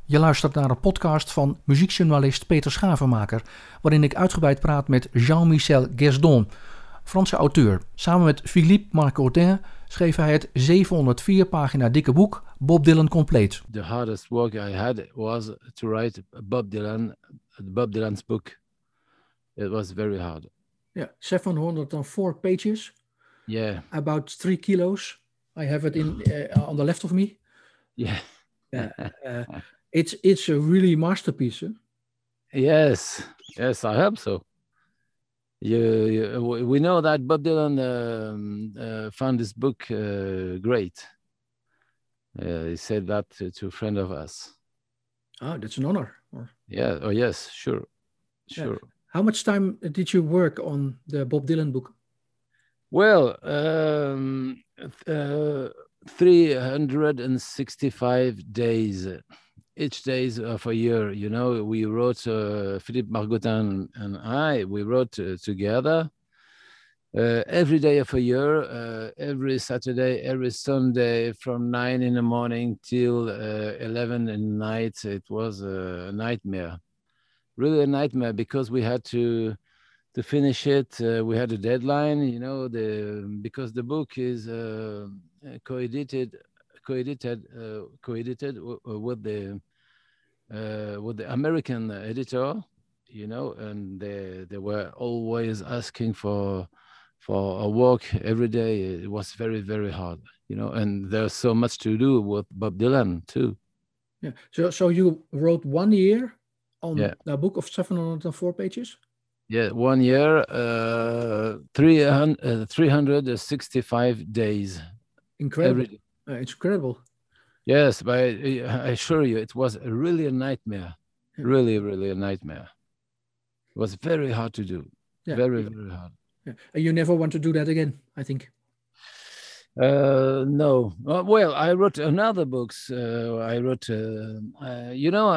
Je luistert naar een podcast van muziekjournalist Peter Schavenmaker, waarin ik uitgebreid praat met Jean-Michel Guesdon, Franse auteur. Samen met Philippe Marcottin schreef hij het 704 pagina dikke boek Bob Dylan Compleet. The hardest work I had was to write Bob Dylan's book. It was very hard. Yeah, 704 pages. Yeah. About 3 kilos. I have it on the left of me. Yeah. It's a really masterpiece. Huh? Yes, I hope so. We know that Bob Dylan found this book great. He said that to a friend of us. Oh, that's an honor. Yeah. Oh, yes. Sure. Yeah. How much time did you work on the Bob Dylan book? Well, 365 days. Each day of a year, you know, we wrote, Philippe Marcottin and I, we wrote together every day of a year, every Saturday, every Sunday, from 9 in the morning till 11 in the night. It was a nightmare, really a nightmare, because we had to finish it. We had a deadline, you know, because the book is co-edited with the American editor, you know, and they were always asking for a work every day. It was very, very hard, you know, and there's so much to do with Bob Dylan too. Yeah. So you wrote 1 year on a book of 704 pages? Yeah, 1 year, 365 days. Incredible. It's incredible. Yes, but I assure you, it was really a nightmare. Yeah. Really a nightmare. It was very hard to do. Yeah. Very hard. Yeah. You never want to do that again, I think. No. Well, I wrote another books. You know,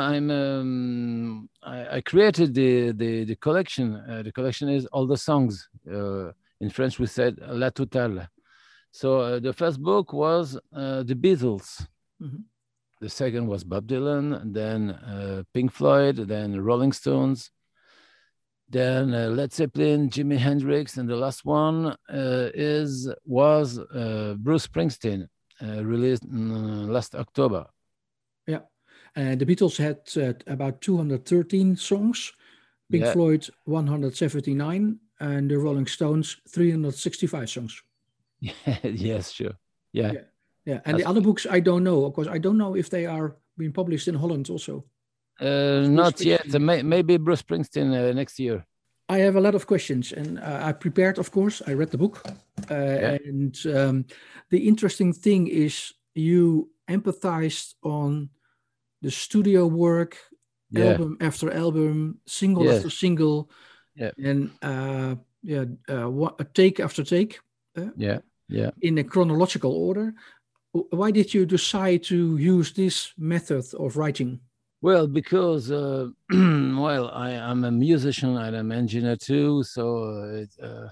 I created the collection. The collection is all the songs. In French, we said La Totale. So the first book was the Beatles. Mm-hmm. The second was Bob Dylan, and then Pink Floyd, then Rolling Stones, then Led Zeppelin, Jimi Hendrix, and the last one was Bruce Springsteen, released last October. Yeah, and the Beatles had about 213 songs, Pink Floyd 179, and the Rolling Stones 365 songs. Yes, sure. Yeah. And the other books I don't know. Of course, I don't know if they are being published in Holland also. Not yet. Maybe Bruce Springsteen next year. I have a lot of questions, and I prepared, of course. I read the book. And the interesting thing is you empathized on the studio work, album after album, single after single, and take after take. In a chronological order. Why did you decide to use this method of writing? Well, because I'm a musician and I'm an engineer too. So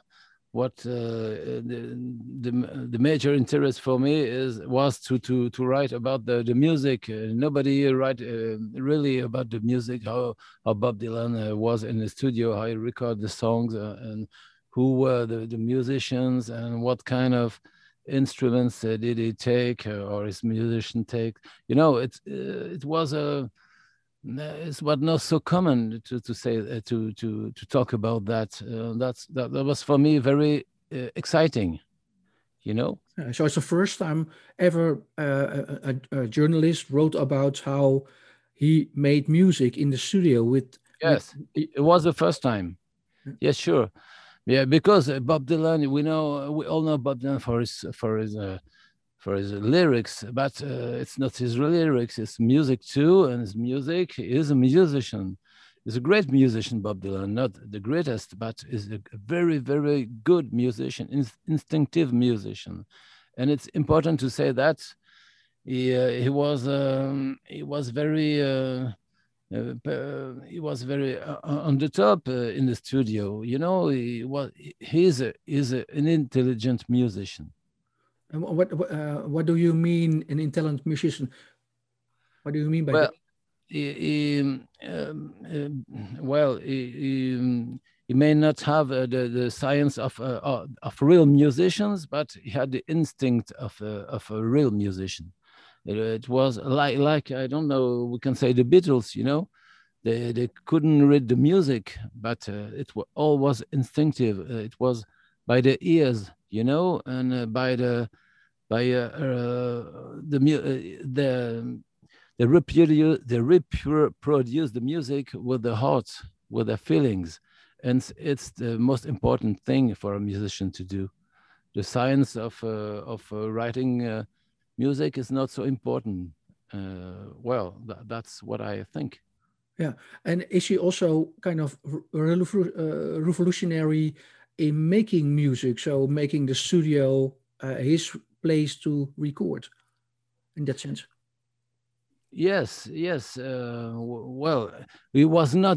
the major interest for me was to write about the music. Nobody write really about the music, how Bob Dylan was in the studio, how he recorded the songs, and who were the musicians and what kind of instruments did he take or his musician take. You know, it was it's what not so common to say to talk about that. That was for me very exciting, you know. So it's the first time ever a journalist wrote about how he made music in the studio with. Yes, it was the first time. Yes, sure. Yeah, because Bob Dylan, we all know Bob Dylan for his lyrics, but it's not his lyrics, it's music too, and his music is a musician. He's a great musician, Bob Dylan, not the greatest, but is a very, very good musician, instinctive musician. And it's important to say that he was very on the top in the studio. You know, he's an intelligent musician. And what do you mean an intelligent musician? What do you mean by that? well, he may not have the science of real musicians, but he had the instinct of a real musician. It was like I don't know, we can say the Beatles, you know, they couldn't read the music, but all was instinctive. It was by the ears, you know, and by the they reproduce the music with the heart, with their feelings, and it's the most important thing for a musician to do. The science of writing music is not so important. Well, that's what I think. Yeah, and is he also kind of revolutionary in making music? So making the studio his place to record, in that sense. Yes, yes. Well, it was not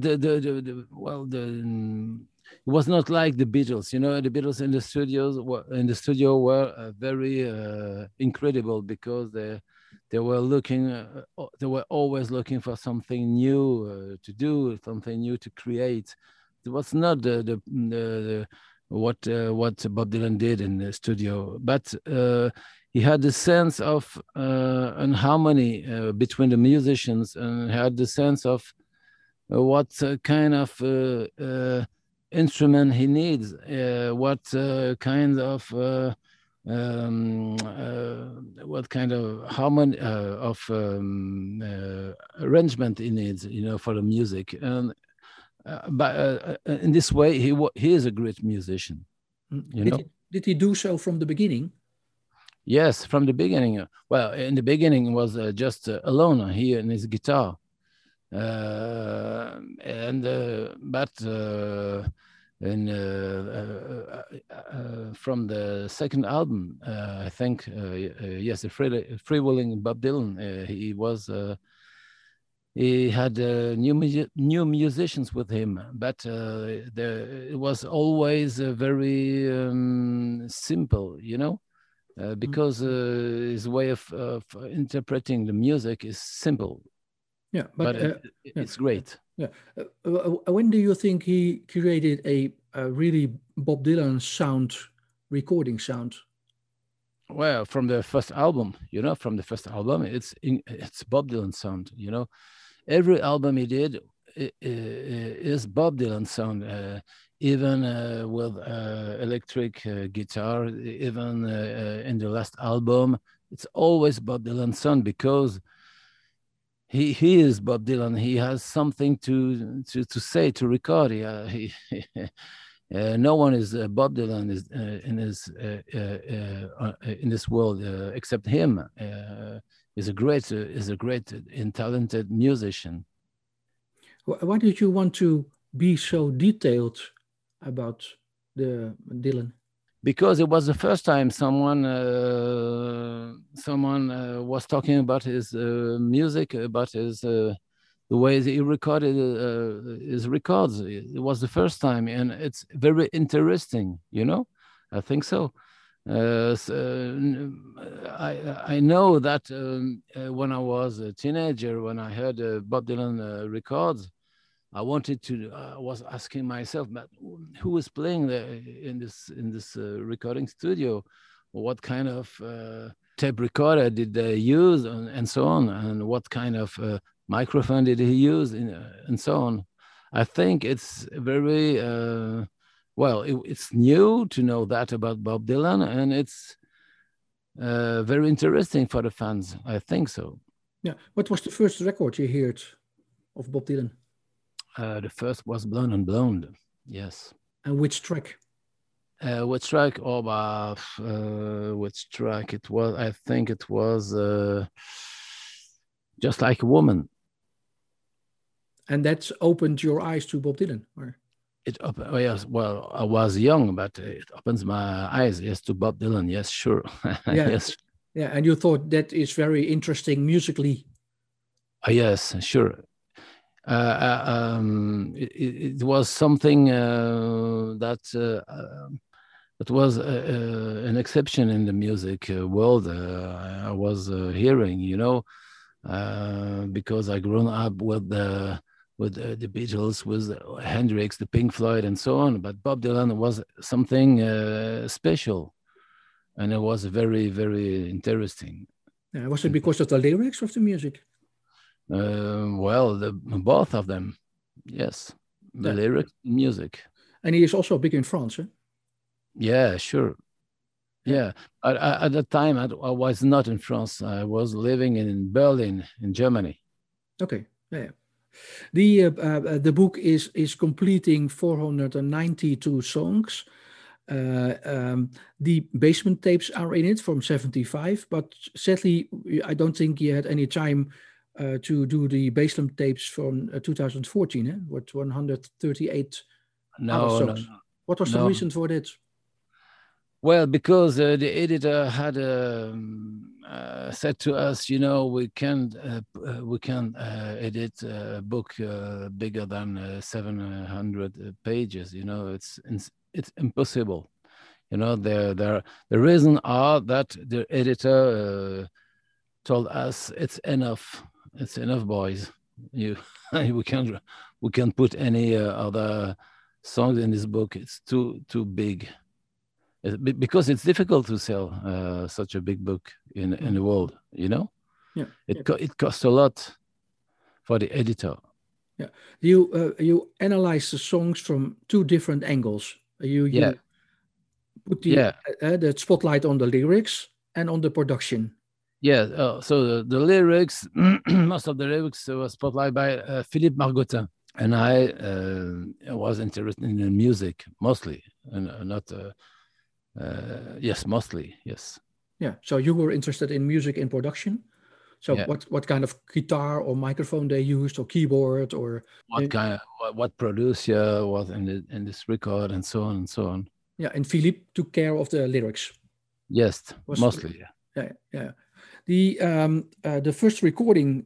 it was not like the Beatles. You know, the Beatles in the studio were very incredible because they were looking, they were always looking for something new to do, something new to create. It was not what Bob Dylan did in the studio, but he had the sense of an harmony between the musicians, and had the sense of what kind of instrument he needs, what kind of what kind of harmony of arrangement he needs, you know, for the music. And but in this way, he is a great musician. You know? Did he do so from the beginning? Yes, from the beginning. Well, in the beginning, it was just alone, he and his guitar. And but from the second album, I think, yes, the freewheeling Bob Dylan, he had new musicians with him, but it was always very simple, you know. Because his way of interpreting the music is simple. Yeah, but it's great. Yeah. When do you think he created a really Bob Dylan sound, recording sound? Well, from the first album, you know, it's Bob Dylan sound. You know, every album he did is Bob Dylan sound. Even with electric guitar, even in the last album, it's always Bob Dylan sound, because he is Bob Dylan. He has something to say, to record. No one is Bob Dylan in this world except him. Is a great and talented musician. Why did you want to be so detailed about the Dylan? Because it was the first time someone was talking about his music, about his the way he recorded his records. It was the first time, and it's very interesting. You know, I think so. I know that when I was a teenager, when I heard Bob Dylan records, I was asking myself, but who is playing in this recording studio? What kind of tape recorder did they use, and so on, and what kind of microphone did he use, and so on. I think it's very it's new to know that about Bob Dylan, and it's very interesting for the fans. I think so. Yeah. What was the first record you heard of Bob Dylan? The first was Blonde on Blonde. Yes. And which track? Which track? Which track it was? I think it was Just Like a Woman. And that's opened your eyes to Bob Dylan, or? Yes. Well, I was young, but it opens my eyes, yes, to Bob Dylan. Yes, sure. Yeah. Yes. Yeah, and you thought that is very interesting musically. Yes, sure. It was something that was an exception in the music world. I was hearing, you know, because I grown up with the Beatles, with Hendrix, the Pink Floyd, and so on. But Bob Dylan was something special, and it was very, very interesting. Was it because of the lyrics of the music? Well, both of them, yes, the lyrics, music. And he is also big in France, eh? Yeah, sure. Yeah, at that time I was not in France. I was living in Berlin, in Germany. Okay, yeah. The book is completing 492 songs. The basement tapes are in it from 75, but sadly, I don't think you had any time to do the basement tapes from 2014, eh? With 138 other songs. No. What was the reason for that? Well, because the editor had said to us, we can't edit a book bigger than 700 pages. It's impossible. The reason are that the editor told us it's enough. It's enough, boys. We can't put any other songs in this book. It's too big. Because it's difficult to sell such a big book in the world, Yeah. It costs a lot for the editor. Yeah. You analyze the songs from two different angles. You put the spotlight on the lyrics and on the production. Yeah. So the lyrics, most of the lyrics was spotlight by Philippe Margotin, and I was interested in the music mostly, and not. Yes, mostly, yes. Yeah, so you were interested in music in production. So what kind of guitar or microphone they used, or keyboard, or what producer was in this record, and so on and so on. Yeah, and Philippe took care of the lyrics. Yes, mostly. Yeah. The first recording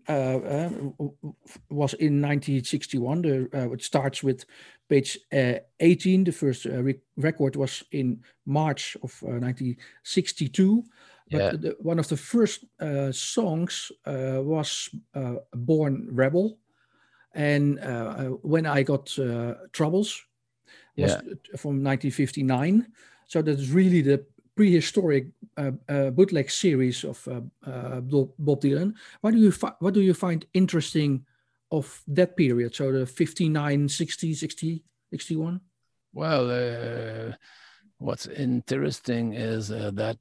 was in 1961. It starts with page 18. The first record was in March of 1962. But one of the first songs was Born Rebel. And When I Got Troubles was from 1959. So that's really the prehistoric bootleg series of Bob Dylan. What do you find interesting of that period? So the 59, 60, 60, 61? Well, what's interesting is that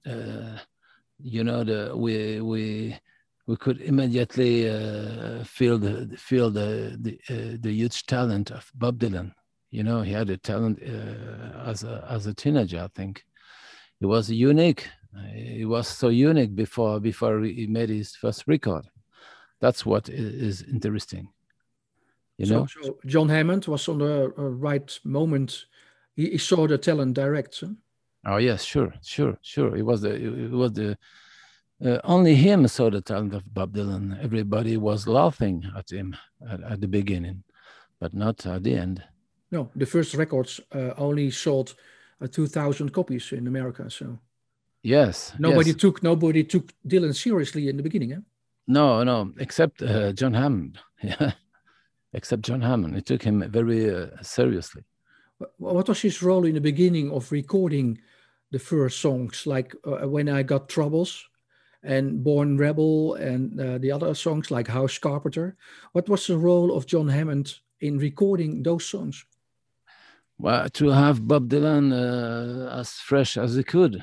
we could immediately feel the huge talent of Bob Dylan. He had a talent as a teenager, I think. He was unique. He was so unique before he made his first record. That's what is interesting. So John Hammond was on the right moment. He saw the talent direct. Huh? Oh yes, sure. It was the only him saw the talent of Bob Dylan. Everybody was laughing at him at the beginning, but not at the end. No, the first records only sold 2,000 copies in America. So nobody took Dylan seriously in the beginning. Eh? No, except John Hammond. Yeah, except John Hammond. It took him very seriously. What was his role in the beginning of recording the first songs, like When I Got Troubles and Born Rebel, and the other songs like House Carpenter? What was the role of John Hammond in recording those songs? Well, to have Bob Dylan as fresh as he could,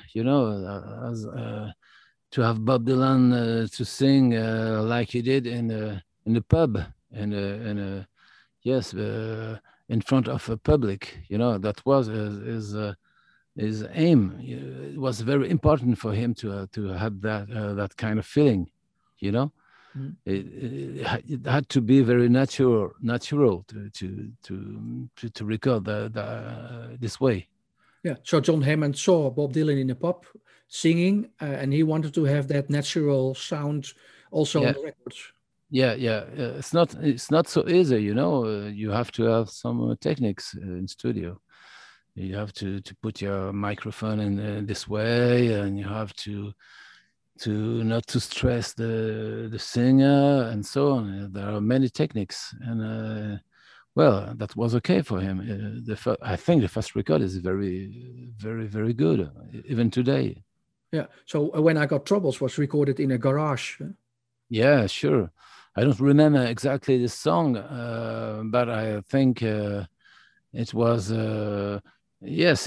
to have Bob Dylan to sing like he did in the pub, in front of a public. That was his aim. It was very important for him to have that kind of feeling. Mm-hmm. It had to be very natural to record this way. Yeah. So John Hammond saw Bob Dylan in a pub singing, and he wanted to have that natural sound also on the records. Yeah. It's not so easy, you have to have some techniques in studio. You have to put your microphone in this way, and you have to not to stress the singer and so on. There are many techniques, and well, that was okay for him. I think the first record is very, very, very good, even today. Yeah. So When I Got Troubles was recorded in a garage. Yeah, sure. I don't remember exactly the song, but I think it was yes.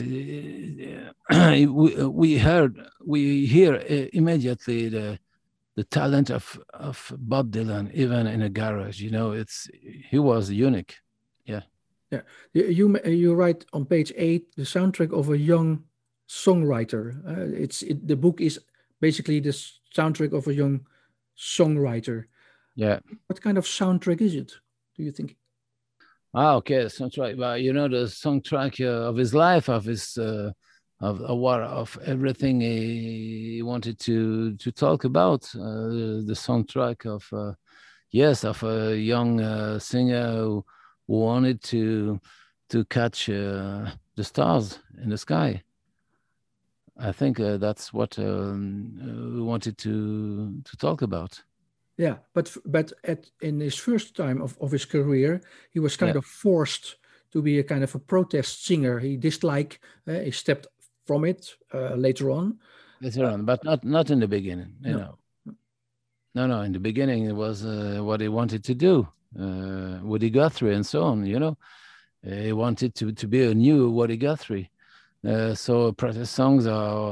We hear immediately the talent of Bob Dylan, even in a garage. You know, he was unique. Yeah. Yeah. You write on page 8 the soundtrack of a young songwriter. The book is basically the soundtrack of a young songwriter. Yeah. What kind of soundtrack is it, do you think? Ah, okay, soundtrack. Well, you know, the soundtrack of his life, of his of everything he wanted to talk about. The soundtrack of yes, of a young singer who wanted to catch the stars in the sky. I think that's what we wanted to talk about. Yeah, but in his first time of his career, he was kind Yeah, of forced to be a kind of a protest singer. He disliked, he stepped from it later on. later on, but not in the beginning. You No, know, no. In the beginning, it was what he wanted to do. Woody Guthrie and so on. You know, he wanted to be a new Woody Guthrie. So protest songs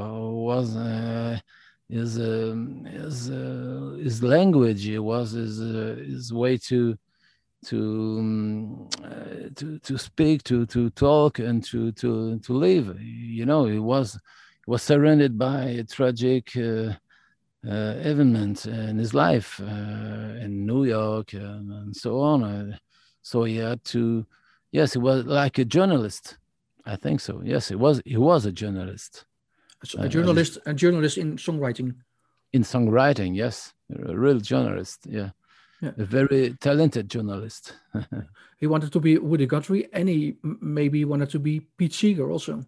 his language. It was his way to speak, to talk, and to live. You know, he was surrounded by a tragic event in his life in New York and so on. So he had to. Yes, he was like a journalist. I think so. Yes, he was. He was a journalist. a journalist in songwriting. In songwriting, yes, a real journalist. Yeah. Yeah. A very talented journalist. He wanted to be Woody Guthrie, and he maybe wanted to be Pete Seeger also.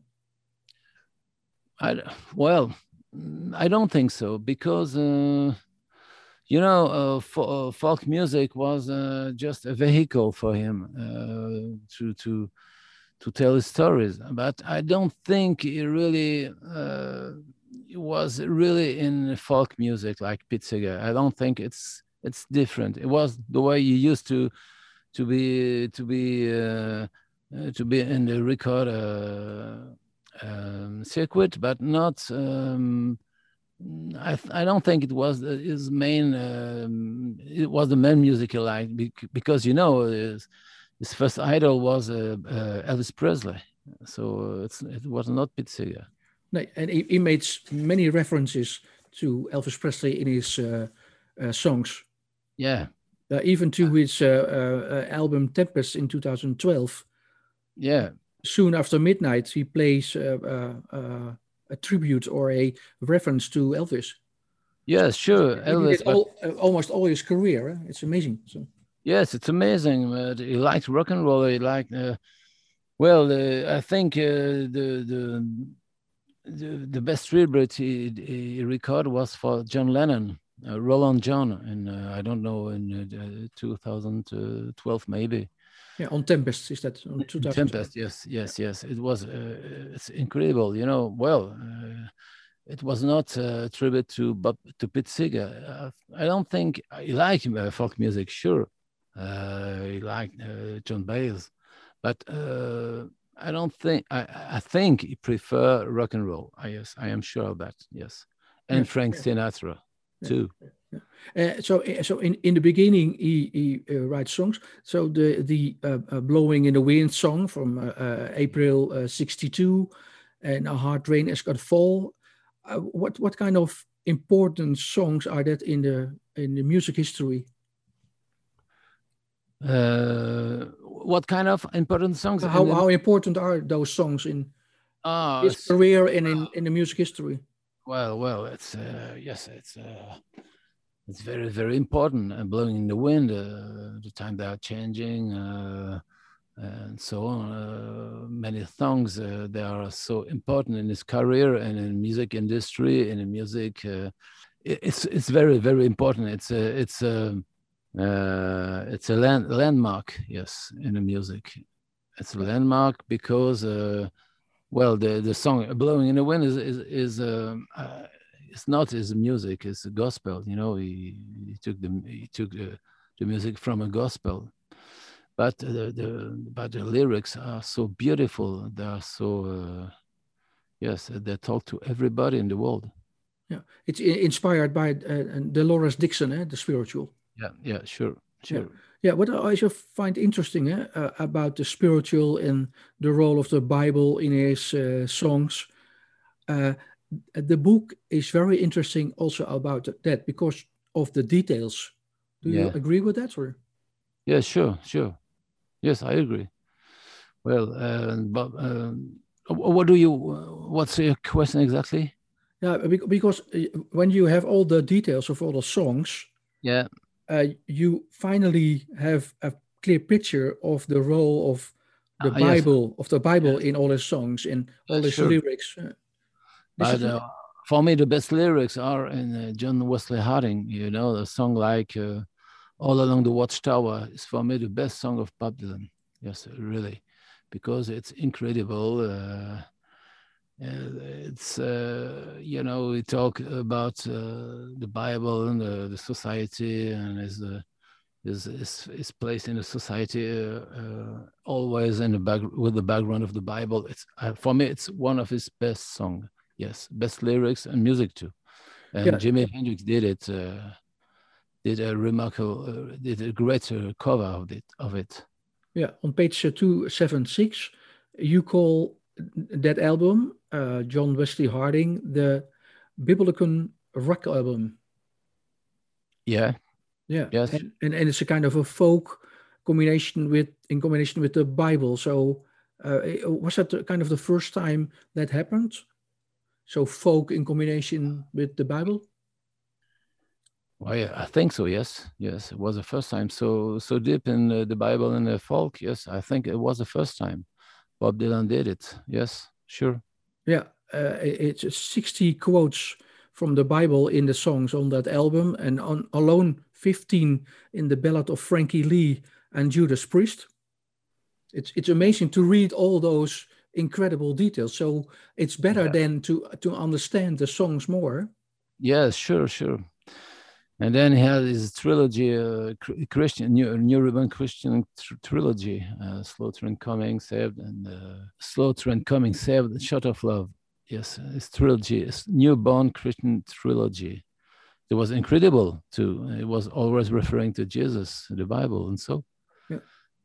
Well, I don't think so, because you know, folk music was just a vehicle for him to tell his stories. But I don't think he really was really in folk music like Pete Seeger. I don't think it's different. It was the way he used to be in the record circuit, but not. I don't think it was his main. It was the main music he liked, because you know his first idol was Elvis Presley, so it was not Pete Seeger. No, and he made many references to Elvis Presley in his songs. Yeah. Even to his album Tempest in 2012. Yeah. Soon after midnight, he plays a tribute or a reference to Elvis. Yes, sure, Elvis. Almost all his career. It's amazing. So. Yes, it's amazing. He liked rock and roll. He liked. Well, I think the best tribute he recorded was for John Lennon. Roland John, and I don't know, in 2012 maybe. Yeah, on Tempest, is that on 2012? Tempest, yes. It was it's incredible, you know. Well, it was not a tribute to Pete Seeger. I don't think he liked folk music. Sure, he liked John Baez, but I don't think. I think he prefer rock and roll. Yes, I am sure of that. Yes, and Frank Sinatra. Too. So in the beginning he writes songs. So the "Blowing in the Wind" song from April '62, and "A Hard Rain Has Got Fall." What kind of important songs are that in the music history? What kind of important songs? How important are those songs in his career and in the music history? Well, it's yes, it's very, very important. Blowing in the Wind, the time they are changing, and so on. Many songs they are so important in his career and in music industry and in music It's very, very important. It's a landmark, yes, in the music. It's a landmark because well, the song "Blowing in the Wind" is it's not his music; it's a gospel. You know, he took the music from a gospel, but the lyrics are so beautiful. They are so yes, they talk to everybody in the world. Yeah, it's inspired by Dolores Dixon, the spiritual. Yeah, sure. Yeah, what I also find interesting about the spiritual and the role of the Bible in his songs. Uh, the book is very interesting also about that because of the details. Do you Yeah. agree with that, or? Yeah, sure. Yes, I agree. Well, but what's your question exactly? Yeah, because when you have all the details of all the songs, Yeah, you finally have a clear picture of the role of the yes, Bible in all his songs, in all his sure. lyrics. This But is for me, the best lyrics are in John Wesley Harding. You know, a song like "All Along the Watchtower" is for me the best song of Bob Dylan. Yes, really, because it's incredible. It's you know, we talk about the Bible and the society and his place in the society, always in the back with the background of the Bible. It's for me, it's one of his best songs. Yes, best lyrics and music too. And yeah, Jimi Hendrix did it. Did a remarkable, did a great cover of it. yeah. On page 276, you call that album, John Wesley Harding, the Biblical rock album. Yeah. Yeah, Yes. and it's a kind of a folk in combination with the Bible. So was that kind of the first time that happened? So folk in combination with the Bible? Well, yeah, I think so. Yes, it was the first time. So deep in the Bible and the folk. Yes, I think it was the first time Bob Dylan did it. Yes, sure. Yeah, it's 60 quotes from the Bible in the songs on that album, and on alone 15 in the Ballad of Frankie Lee and Judas Priest. It's amazing to read all those incredible details. So it's better Yeah. than to understand the songs more. Yes, sure. And then he had his trilogy, Christian, New Ribbon Christian trilogy, Slaughter and Coming, Saved, and Slaughter and Coming, Saved, and Shot of Love. Yes, his trilogy, his newborn Christian trilogy. It was incredible too. It was always referring to Jesus, the Bible, and so. Yeah.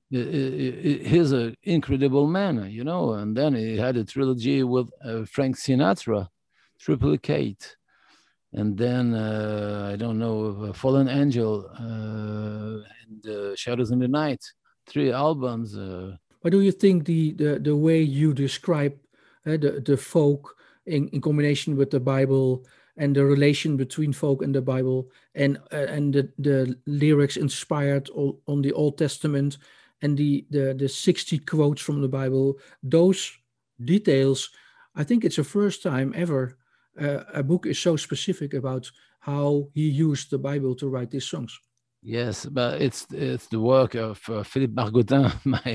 He's an incredible man, you know. And then he had a trilogy with Frank Sinatra, Triplicate. And then I don't know, Fallen Angel and Shadows in the Night, 3 albums. What do you think the way you describe the folk in combination with the Bible and the relation between folk and the Bible and the lyrics inspired on the Old Testament and the 60 quotes from the Bible, those details, I think it's the first time ever a book is so specific about how he used the Bible to write these songs. Yes, but it's the work of Philippe Margotin,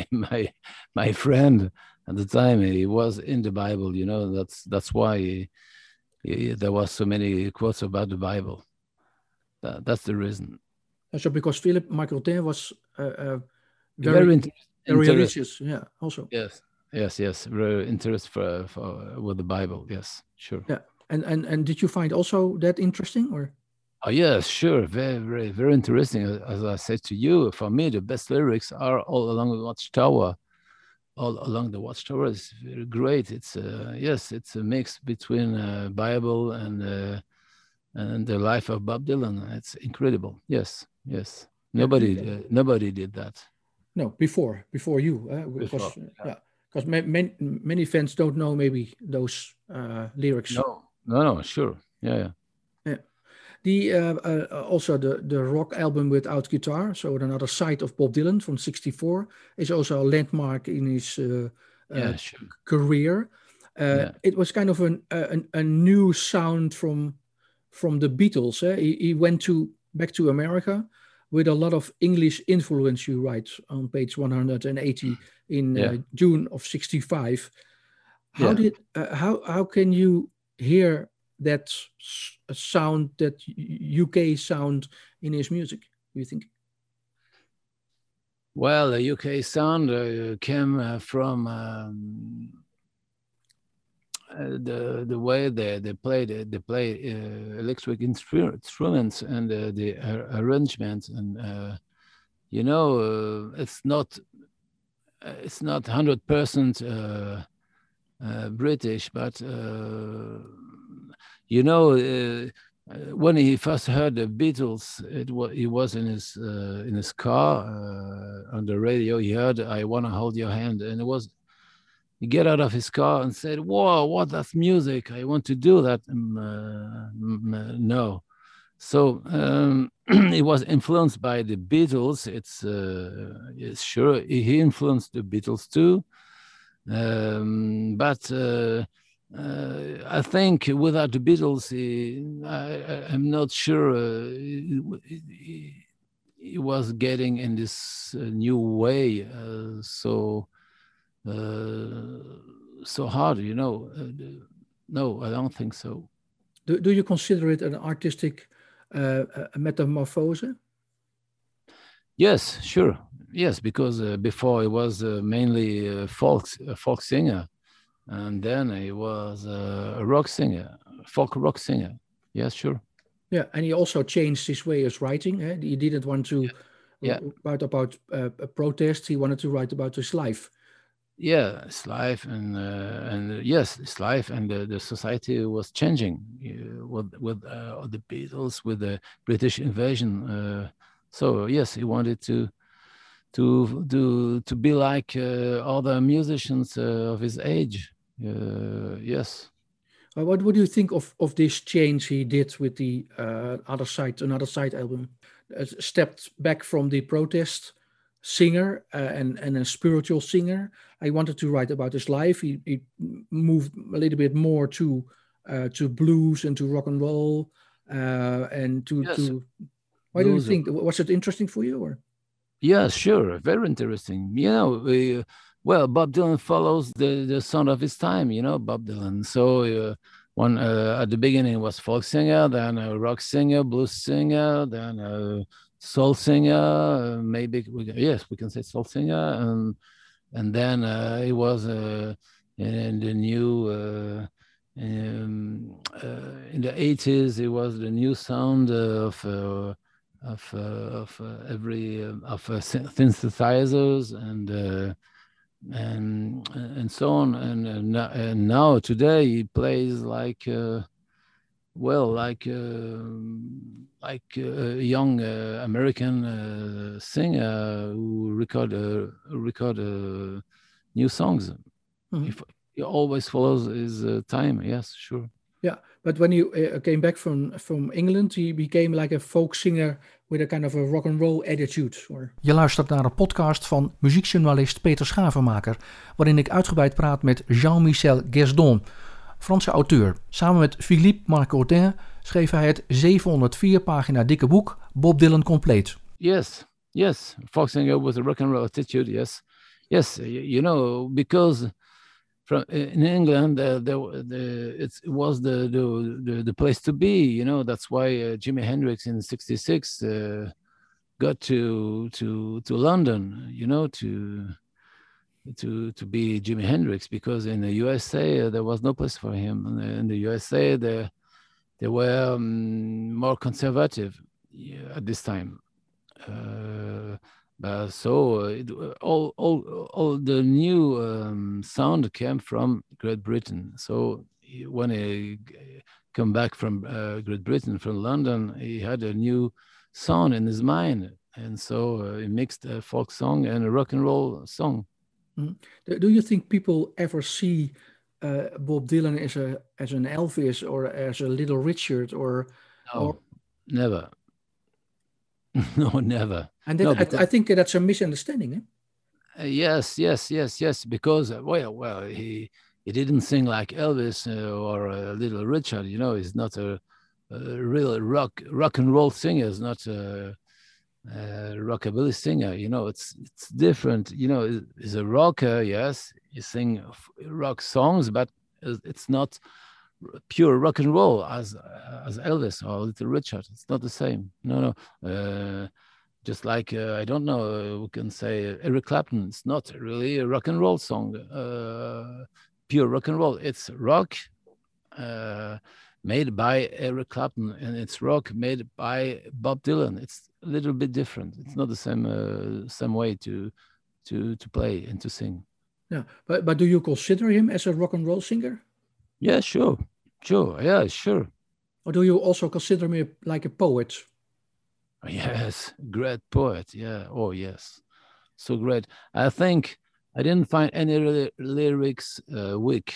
my friend at the time. He was in the Bible, you know. That's why there was so many quotes about the Bible. That's the reason. So because Philippe Margotin was Very religious, yeah, also. Yes, very interested for with the Bible. Yes, sure. Yeah, and did you find also that interesting, or? Oh yes, sure. Very, very interesting. As I said to you, for me, the best lyrics are All Along the Watchtower. All Along the Watchtower is very great. It's yes, it's a mix between Bible and the life of Bob Dylan. It's incredible. Yes. Nobody did that. No, before you, because because many fans don't know maybe those lyrics. No, sure, yeah. The also the rock album without guitar, so another side of Bob Dylan from '64, is also a landmark in his sure. career. It was kind of a new sound from from the Beatles. He went back to America with a lot of English influence, you write on page 180 in June of 65. How can you hear that sound, that UK sound in his music, do you think? Well, the UK sound came from the way they play electric instruments and the arrangements, and it's not 100% British, but when he first heard the Beatles, he was in his car on the radio. He heard "I Wanna Hold Your Hand," and he get out of his car and said, "Whoa, what? That's music! I want to do that." No, so he was influenced by the Beatles. It's sure he influenced the Beatles too, but. I think without the Beatles, I'm not sure he was getting in this new way so hard, No, I don't think so. Do you consider it an artistic metamorphose? Yes, sure. Yes, because before he was mainly a folk singer. And then he was a rock singer, folk rock singer. Yes, sure. Yeah, and he also changed his way of writing. He didn't want to write about a protest. He wanted to write about his life. Yeah, his life, and yes, his life, and the society was changing with the Beatles, with the British invasion. So yes, he wanted to be like other musicians of his age. Yes. What do you think of this change he did with the Another Side album? Stepped back from the protest singer and a spiritual singer. I wanted to write about his life. He moved a little bit more to blues and to rock and roll and to. Yes. Why do you think? Was it interesting for you, or? Yeah, sure, very interesting. Well, Bob Dylan follows the sound of his time, Bob Dylan. So at the beginning was folk singer, then a rock singer, blues singer, then a soul singer. Maybe we can say soul singer, and then he was in the new in the 80s. It was the new sound of synthesizers and so on, and now today he plays like a young American singer who record new songs. Mm-hmm. He always follows his time. Yes, sure. Yeah, but when you came back from England, he became like a folk singer with a kind of a rock and roll attitude. Or... Je luistert naar een podcast van muziekjournalist Peter Schavenmaker, waarin ik uitgebreid praat met Jean-Michel Guesdon, Franse auteur. Samen met Philippe Marcodin schreef hij het 704 pagina dikke boek Bob Dylan Complete. Yes, folk singer with a rock and roll attitude. Yes, because. In England, it was the place to be. That's why Jimi Hendrix in '66 got to London. To be Jimi Hendrix, because in the USA there was no place for him. In the USA, they were more conservative at this time. So all the new sound came from Great Britain. So when he came back from Great Britain, from London, he had a new sound in his mind, and so he mixed a folk song and a rock and roll song. Mm-hmm. Do you think people ever see Bob Dylan as an Elvis or as a Little Richard or never? No, never. And I think that's a misunderstanding. Yes. Because he didn't sing like Elvis or Little Richard. He's not a real rock and roll singers, not rockabilly singer. You know, it's different. You know, he's a rocker, yes, he sing rock songs, but it's not pure rock and roll as Elvis or Little Richard. It's not the same. No. Just like I don't know, we can say Eric Clapton. It's not really a rock and roll song, pure rock and roll. It's rock made by Eric Clapton, and it's rock made by Bob Dylan. It's a little bit different. It's not the same way to play and to sing. Yeah, but do you consider him as a rock and roll singer? Yeah, sure. Yeah, sure. Or do you also consider me like a poet? Yes, great poet. Yeah. Oh, yes. So great. I think I didn't find any lyrics weak,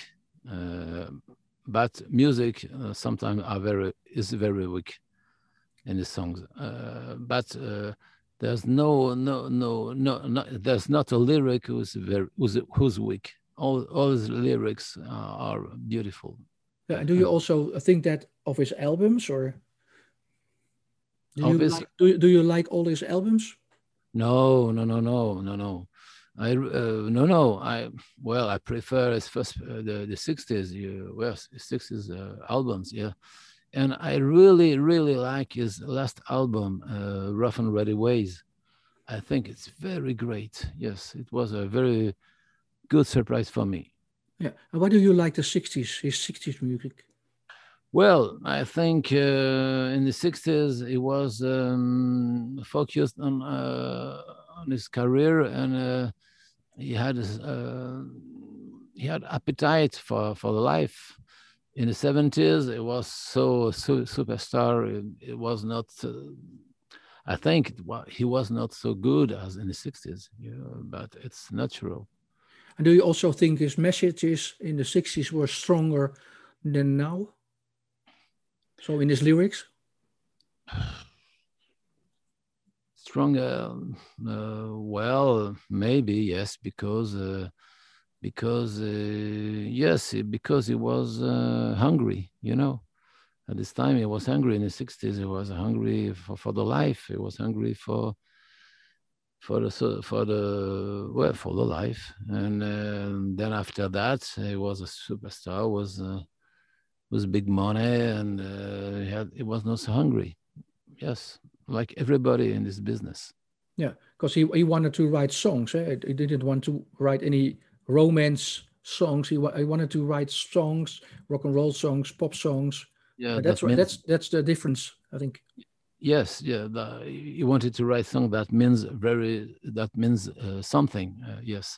but music sometimes is very weak in the songs. But there's there's not a lyric who's weak. All his lyrics are beautiful. Yeah, and do you also think that of his albums, or do you like all his albums? No. I prefer his first the 60s. Well, 60s albums, yeah. And I really like his last album, Rough and Ready Ways. I think it's very great. Yes, it was a very good surprise for me. Yeah. And why do you like the 60s, his 60s music? Well, I think in the 60s he was focused on his career, and he had appetite for the life. In the 70s, it was so superstar. It was not. I think he was not so good as in the 60s. But it's natural. And do you also think his messages in the 60s were stronger than now? So in his lyrics? Stronger, well, maybe, yes, because he was hungry, At this time, he was hungry. In the 60s, he was hungry for the life. He was hungry for the life. And then after that, he was a superstar, was big money, and he was not so hungry. Yes, like everybody in this business. Yeah, because he wanted to write songs. He didn't want to write any romance songs. He wanted to write songs, rock and roll songs, pop songs. Yeah, that's the difference, I think. Yes, yeah. He wanted to write song that means something. Yes,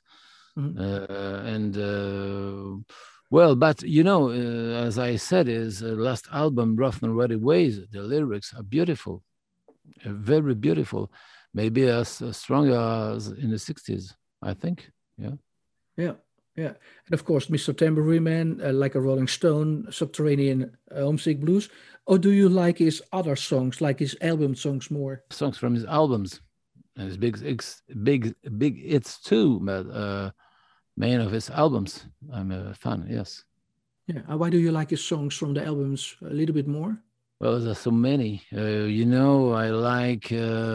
and. Well, but as I said, his last album, Rough and Ready Ways, the lyrics are beautiful, very beautiful, maybe as strong as in the 60s, I think. Yeah. And of course, Mr. Tambourine Man, Like a Rolling Stone, Subterranean, Homesick Blues. Or do you like his other songs, like his album songs more? Songs from his albums, and his big hits too, but main of his albums, I'm a fan. Yes. Yeah. Why do you like his songs from the albums a little bit more? Well, there's so many. I like.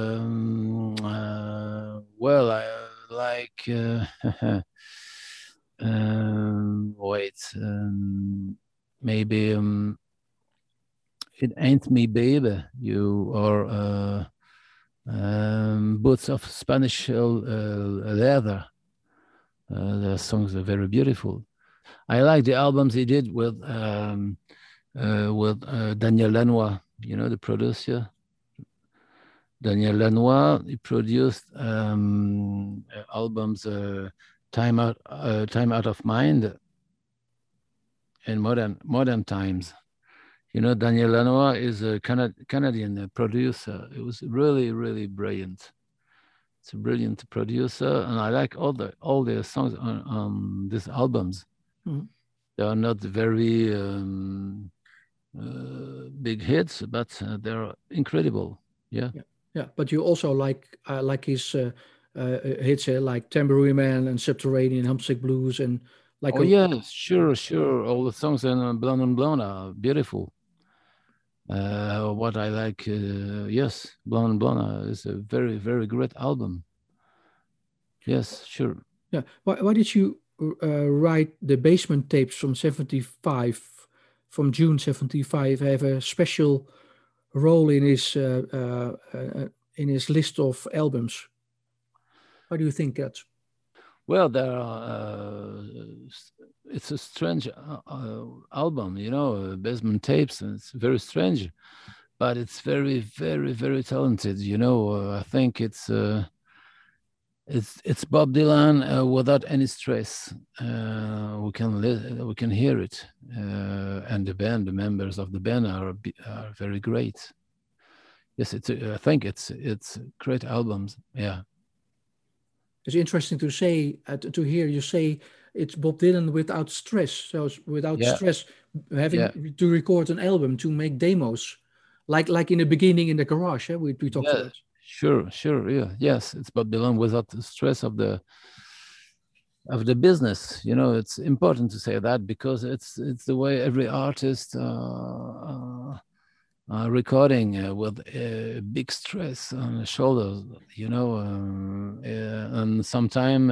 Maybe It Ain't Me, Baby. Boots of Spanish Leather. The songs are very beautiful. I like the albums he did with Daniel Lanois, the producer. Daniel Lanois, he produced albums Time Out of Mind and Modern Times. Daniel Lanois is a Canadian producer. It was really, really brilliant. It's a brilliant producer, and I like all the songs on these albums. Mm-hmm. They are not very big hits, but they're incredible. Yeah. But you also like his hits, like Tambourine Man and Subterranean, Homesick Blues, and like. Oh yes, sure. All the songs in Blonde on Blonde are beautiful. What I like, yes, Blonde Blonde is a very, very great album. Yes, sure. Yeah. Why did you write the Basement Tapes from 75, from June 75, have a special role in his list of albums? Why do you think that? Well, there are. It's a strange album, you know, Basement Tapes, and it's very strange, but it's very, very, very talented. You know, I think it's Bob Dylan without any stress. We can hear it, and the members of the band are very great. Yes, I think it's great albums. Yeah. It's interesting to say, to hear you say it's Bob Dylan without stress. So it's without Yeah, stress, yeah, having to record an album, to make demos, like in the beginning in the garage. We talked yeah. about. Sure, sure. Yeah, yes. It's Bob Dylan without the stress of the business. You know, it's important to say that because it's the way every artist recording with big stress on the shoulders. You know, and sometimes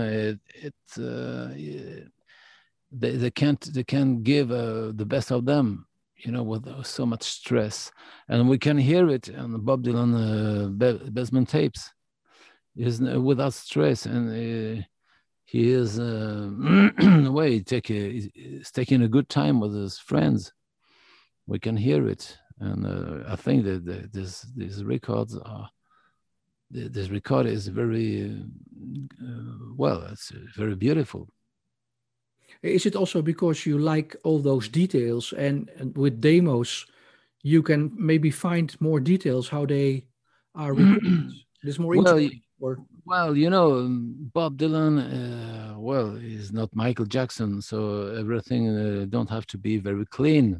they can't give the best of them, you know, with so much stress, and we can hear it on the Bob Dylan Basement Tapes. Is without stress, and he is way he's taking a good time with his friends. We can hear it, and I think that these records are. This record is very well. It's very beautiful. Is it also because you like all those details, and with demos, you can maybe find more details how they are recorded? It's more Well, interesting. Or well, you know, Bob Dylan. Well, he's not Michael Jackson, so everything don't have to be very clean.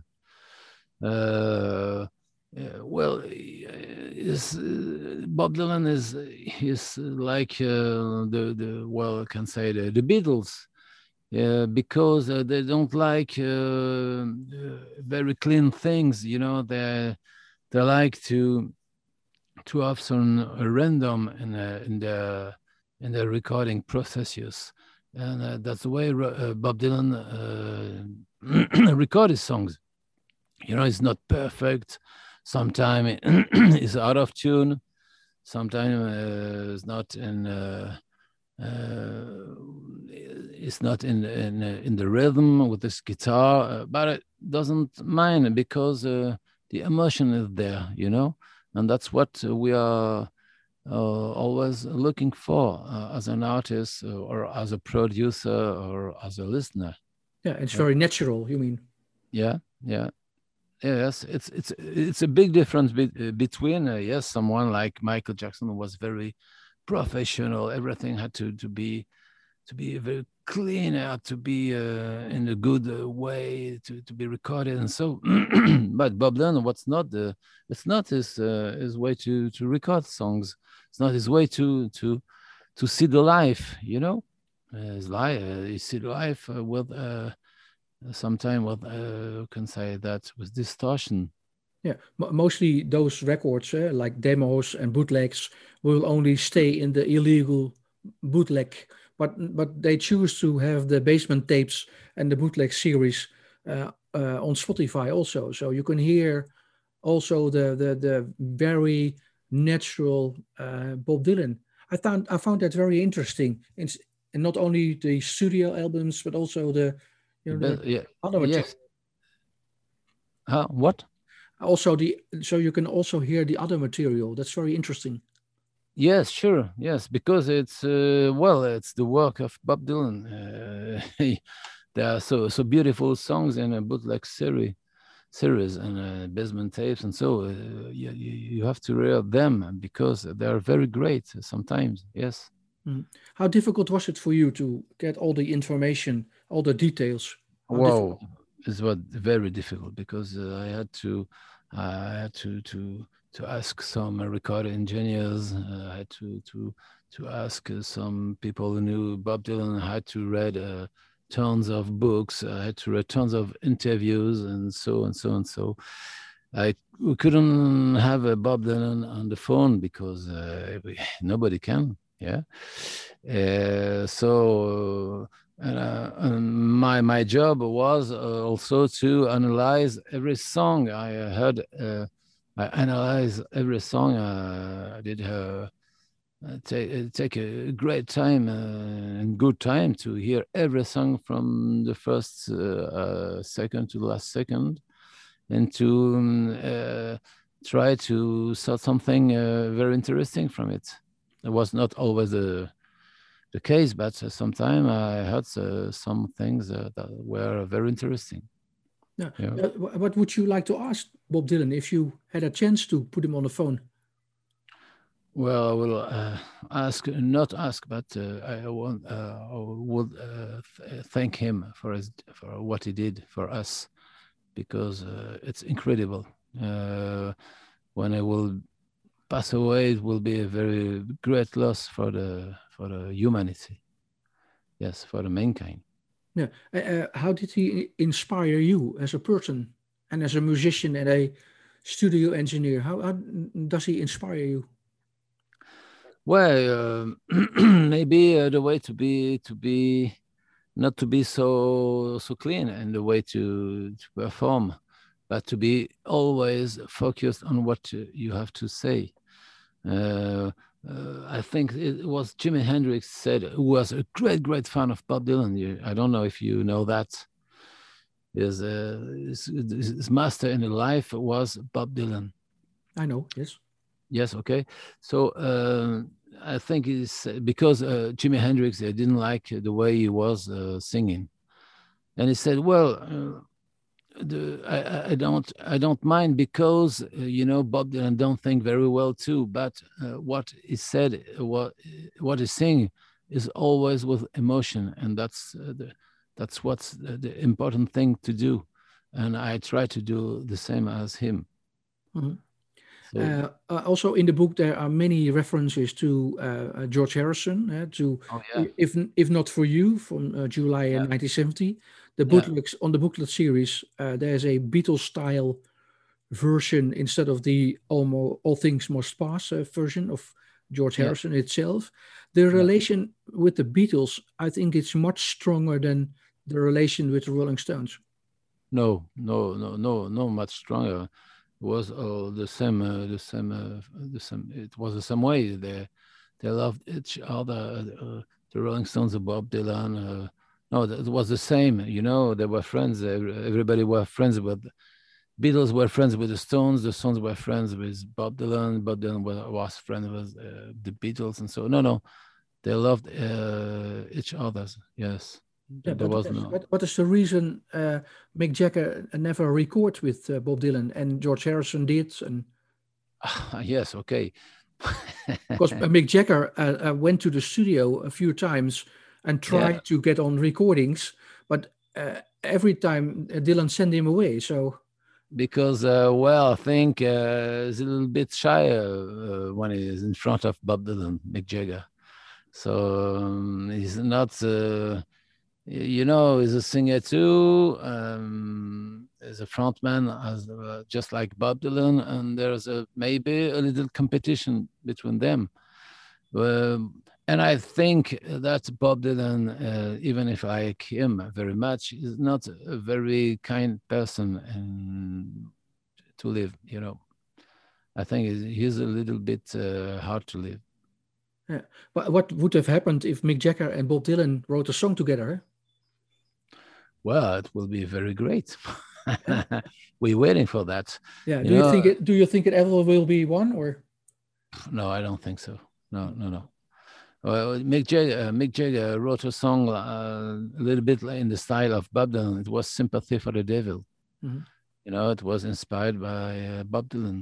Uh, well, Bob Dylan is like the well, I can say the Beatles. Because they don't like very clean things, you know. They like to have some random in the recording processes, and that's the way Bob Dylan record his songs. You know, it's not perfect. Sometimes it's out of tune. Sometimes it's not in the rhythm with this guitar, but it doesn't mind because the emotion is there, you know, and that's what we are always looking for as an artist or as a producer or as a listener. yeah, it's very natural. You mean? Yeah, yeah. Yes, it's a big difference between yes, someone like Michael Jackson was very professional. Everything had to be very clean, to be in a good way to be recorded, and so. But Bob Dylan, it's not his way to record songs. It's not his way to see the life. You know, his life. You see the life with. Sometimes what can say that with distortion. Yeah, mostly those records, like demos and bootlegs, will only stay in the illegal bootleg, but they choose to have the Basement Tapes and the bootleg series on Spotify also, so you can hear also the very natural Bob Dylan. I found that very interesting. And not only the studio albums, but also the Yeah, other material. yes. What? Also so you can also hear the other material. That's very interesting. Yes, sure. Yes, because it's well, it's the work of Bob Dylan. There are so beautiful songs in a bootleg series and Basement Tapes, and so you have to read them because they are very great sometimes. Yes. Mm. How difficult was it for you to get all the information, all the details? How difficult? Wow, it was very difficult because I had to ask some record engineers. I had to ask some people who knew Bob Dylan. I had to read tons of books. I had to read tons of interviews and so and so and so. we couldn't have a Bob Dylan on the phone because nobody can. Yeah. My job was also to analyze every song I heard. I analyze every song. I did take a great time and good time to hear every song from the first second to the last second, and to try to sort something very interesting from it. It was not always the case, but sometimes I heard some things that were very interesting. Yeah. What would you like to ask Bob Dylan if you had a chance to put him on the phone? Well, I will not ask, but I would thank him for what he did for us, because it's incredible. When I will pass away, it will be a very great loss for the humanity. Yes, for the mankind. Yeah. How did he inspire you as a person and as a musician and a studio engineer? How does he inspire you? Well, maybe the way to be not to be so clean, and the way to perform, but to be always focused on what you have to say. I think it was Jimi Hendrix said, who was a great fan of Bob Dylan. I don't know if you know that. His master in life was Bob Dylan. I know, yes. Yes, okay. So I think it's because Jimi Hendrix didn't like the way he was singing, and he said, "Well, I don't mind, because Bob Dylan don't think very well too, but what he said, what he's saying is always with emotion, and that's what's the important thing to do, and I try to do the same as him." Mm-hmm. Also in the book there are many references to George Harrison, if not for you, from July 1970. The booklets on the booklet series, there's a Beatles style version instead of the All Things Must Pass version of George Harrison itself. The relation with the Beatles, I think it's much stronger than the relation with the Rolling Stones. No, much stronger. It was the same. It was the same way. They loved each other. The Rolling Stones, Bob Dylan. No, it was the same. They were friends. Everybody were friends with Beatles. Were friends with the Stones. The Stones were friends with Bob Dylan. Bob Dylan was friends with the Beatles, and so no, they loved each other. Yes. What is the reason Mick Jagger never recorded with Bob Dylan and George Harrison did? And yes, okay. Because Mick Jagger went to the studio a few times and tried to get on recordings, but every time Dylan sent him away. So because I think he's a little bit shy when he's in front of Bob Dylan, Mick Jagger. So he's not. He's a singer too. He's a frontman, just like Bob Dylan, and there's maybe a little competition between them. And I think that Bob Dylan, even if I like him very much, is not a very kind person to live. I think he's a little bit hard to live. Yeah. But what would have happened if Mick Jagger and Bob Dylan wrote a song together? Well, it will be very great. We're waiting for that. Yeah. Do you think it ever will be one, or? No, I don't think so. No. Well, Mick Jagger wrote a song a little bit in the style of Bob Dylan. It was "Sympathy for the Devil." Mm-hmm. It was inspired by Bob Dylan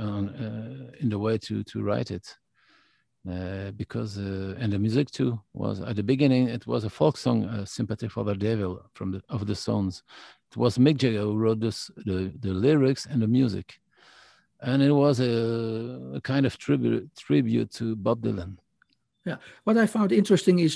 in the way to write it. Because and the music too was at the beginning. It was a folk song, "Sympathy for the Devil" of the Stones. It was Mick Jagger who wrote the lyrics and the music, and it was a kind of tribute to Bob Dylan. Yeah, what I found interesting is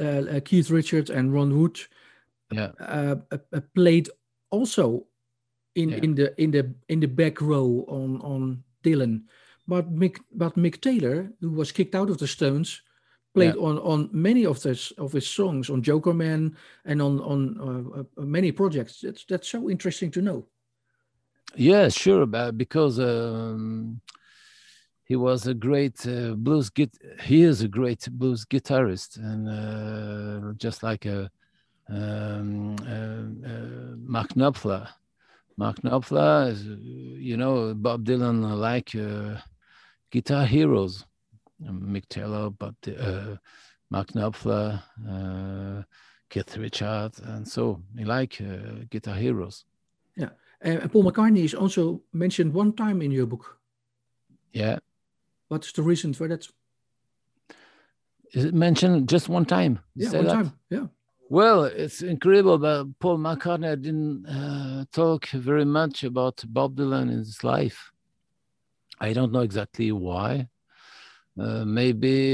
Keith Richards and Ron Wood played also in the back row on Dylan, but Mick Taylor, who was kicked out of the Stones, played on many of his songs, on Joker Man and on many projects. That's so interesting to know. Yeah, sure, because he was a great he is a great blues guitarist, and just like Mark Knopfler. Mark Knopfler is, Bob Dylan like guitar heroes. Mick Taylor, Mark Knopfler, Keith Richards, and so he like guitar heroes. Yeah, and Paul McCartney is also mentioned one time in your book. Yeah. What's the reason for that? Is it mentioned just one time? Yeah, one time. Yeah. Well, it's incredible, but Paul McCartney didn't talk very much about Bob Dylan in his life. I don't know exactly why. Maybe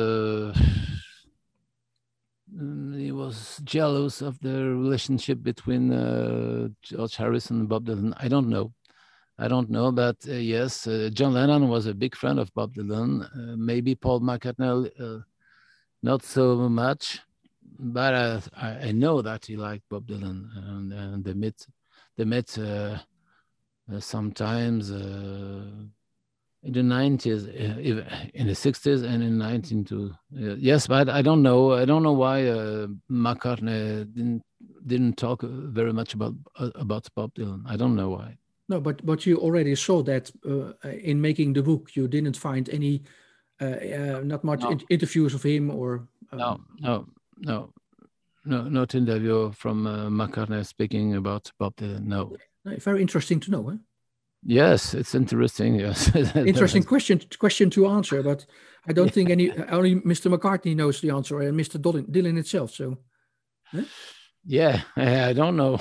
he was jealous of the relationship between George Harrison and Bob Dylan. I don't know, but yes, John Lennon was a big friend of Bob Dylan. Maybe Paul McCartney not so much, but I know that he liked Bob Dylan, and they met sometimes in the 90s, in the 60s, and in 1902. Yes, but I don't know why McCartney didn't talk very much about Bob Dylan. I don't know why. No, but you already saw that in making the book, you didn't find any not much interviews of him or. No, not interview from McCartney speaking about Bob Dylan. No. Very interesting to know, huh? Yes, it's interesting. Yes, interesting question to answer, but I don't think only Mr. McCartney knows the answer, and Mr. Dylan itself. So, yeah, I don't know.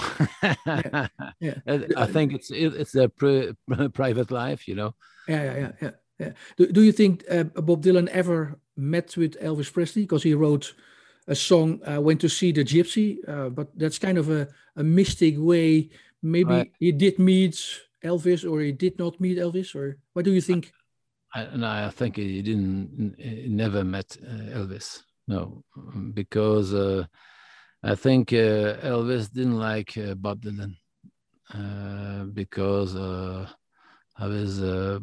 I think it's their private life, Yeah. Do you think Bob Dylan ever met with Elvis Presley? Because he wrote a song, "Went to See the Gypsy," but that's kind of a mystic way. Maybe he did meet Elvis, or he did not meet Elvis, or what do you think? I think he never met Elvis. No, because I think Elvis didn't like Bob Dylan because of his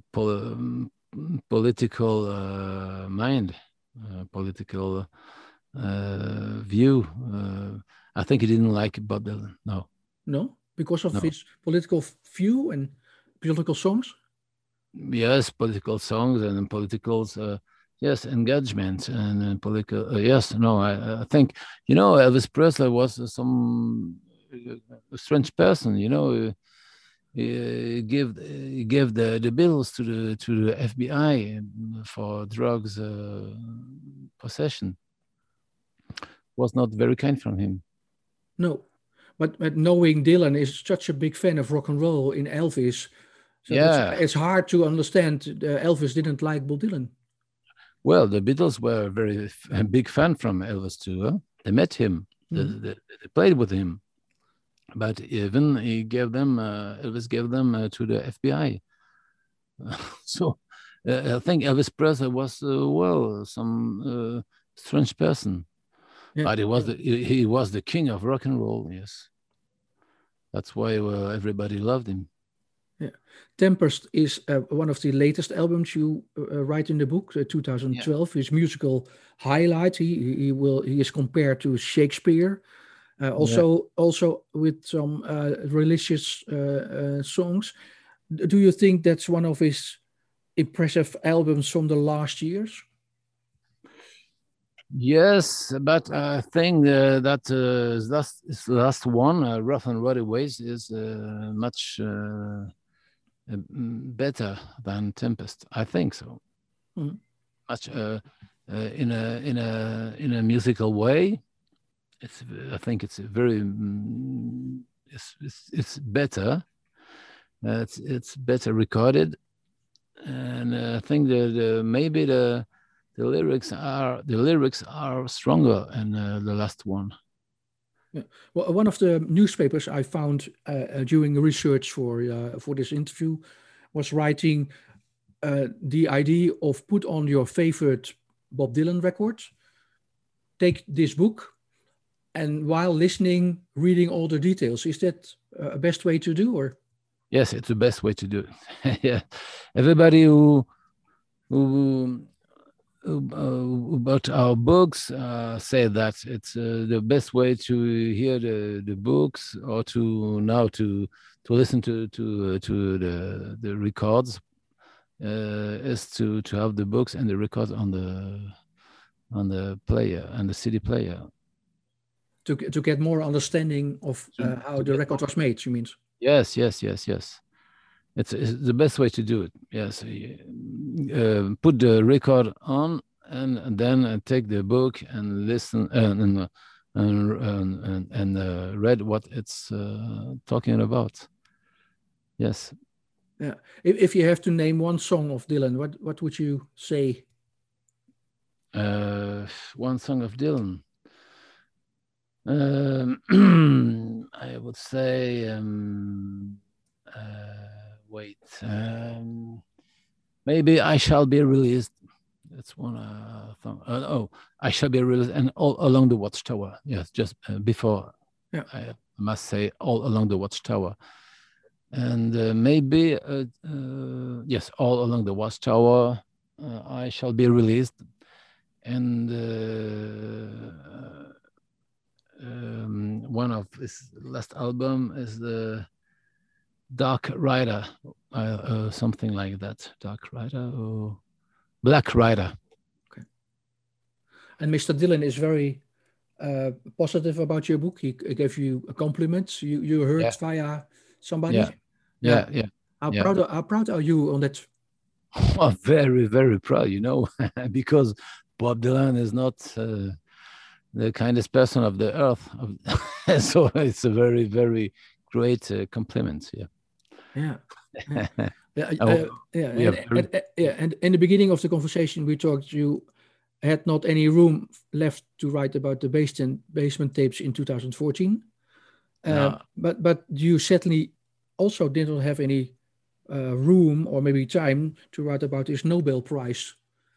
political mind, political view. I think he didn't like Bob Dylan. No, because of his political view and political songs. Yes, political songs and political engagement and political. Yes, no, I think Elvis Presley was some strange person. He gave the bills to the FBI for drugs possession. Was not very kind from him. No, but knowing Dylan is such a big fan of rock and roll in Elvis, so it's hard to understand Elvis didn't like Bob Dylan. Well, the Beatles were a very big fan from Elvis too. Huh? They met him, they played with him, but even Elvis gave them to the FBI. So I think Elvis Presley was some strange person. Yeah. But he was the king of rock and roll. Yes, that's why everybody loved him. Yeah, Tempest is one of the latest albums you write in the book, 2012. His musical highlight. He is compared to Shakespeare, also with some religious songs. Do you think that's one of his impressive albums from the last years? Yes, but I think that his last one, Rough and Rowdy Ways, is much better than Tempest. I think so. Much in a musical way. I think it's very it's better. It's better recorded, and I think that maybe the lyrics are stronger in the last one. Yeah. Well, one of the newspapers I found during research for this interview was writing the idea of put on your favorite Bob Dylan record, take this book, and while listening, reading all the details. Is that a best way to do, or? Yes, it's the best way to do it. Yeah, everybody who bought our books say that it's the best way to hear the books, or to listen to the records, is to have the books and the records on the player and the CD player. To get more understanding of how the record was made, you mean? Yes. It's the best way to do it. Yes, put the record on, and then take the book and listen and read what it's talking about. Yes. Yeah. If you have to name one song of Dylan, what would you say? One song of Dylan. I would say. Wait, maybe I Shall Be Released. That's one song. I Shall Be Released, and All Along the Watchtower. Yes, just before. Yeah. I must say All Along the Watchtower. And maybe, yes, All Along the Watchtower, I Shall Be Released. And one of his last album is the Dark Rider, something like that. Dark Rider or Black Rider. Okay. And Mr. Dylan is very positive about your book. He gave you a compliment. You heard via somebody. Yeah. How proud are you on that? Well, very, very proud. Because Bob Dylan is not the kindest person of the earth, so it's a very, very great compliment. Yeah. And in the beginning of the conversation, we talked. You had not any room left to write about the basement tapes in 2014. But you certainly also didn't have any room or maybe time to write about his Nobel Prize.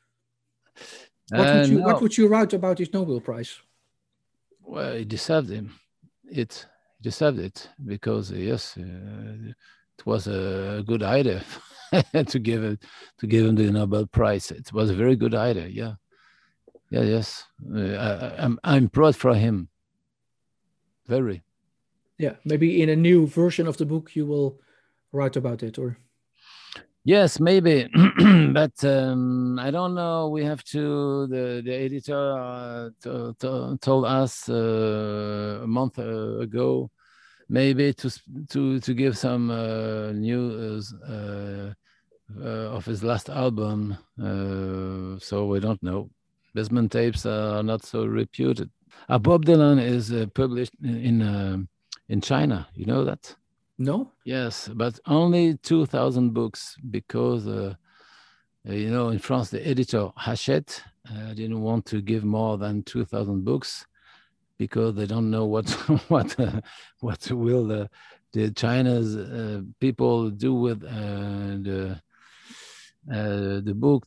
What would you write about his Nobel Prize? Well, he deserved him. He deserved it because yes, it was a good idea to give him the Nobel Prize. It was a very good idea. Yes. I'm proud for him. Very. Yeah, maybe in a new version of the book you will write about it, or. Yes, maybe, but I don't know. We have to. The editor told us a month ago, maybe to give some news of his last album. So we don't know. Basement tapes are not so reputed. Bob Dylan is published in China. You know that? No. Yes, but only 2,000 books because in France the editor Hachette didn't want to give more than 2,000 books because they don't know what will the China's people do with the book.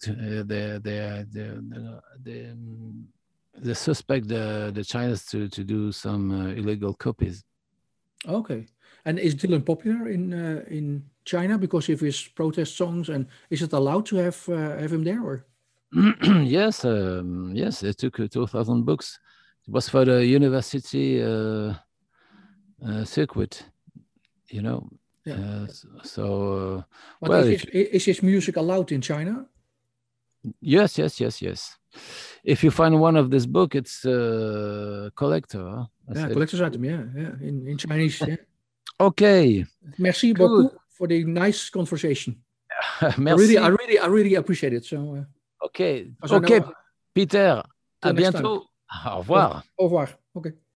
They suspect the Chinese to do some illegal copies. Okay. And is Dylan popular in China because of his protest songs? And is it allowed to have him there? Or? Yes, they took 2,000 books. It was for the university circuit, Yeah. But is his music allowed in China? Yes. If you find one of this book, it's collector. Collector's item. Yeah. In Chinese. Yeah. Okay. Merci beaucoup for the nice conversation. Merci. I really appreciate it. So. Okay, Peter. À bientôt. Au revoir. Au revoir. Okay.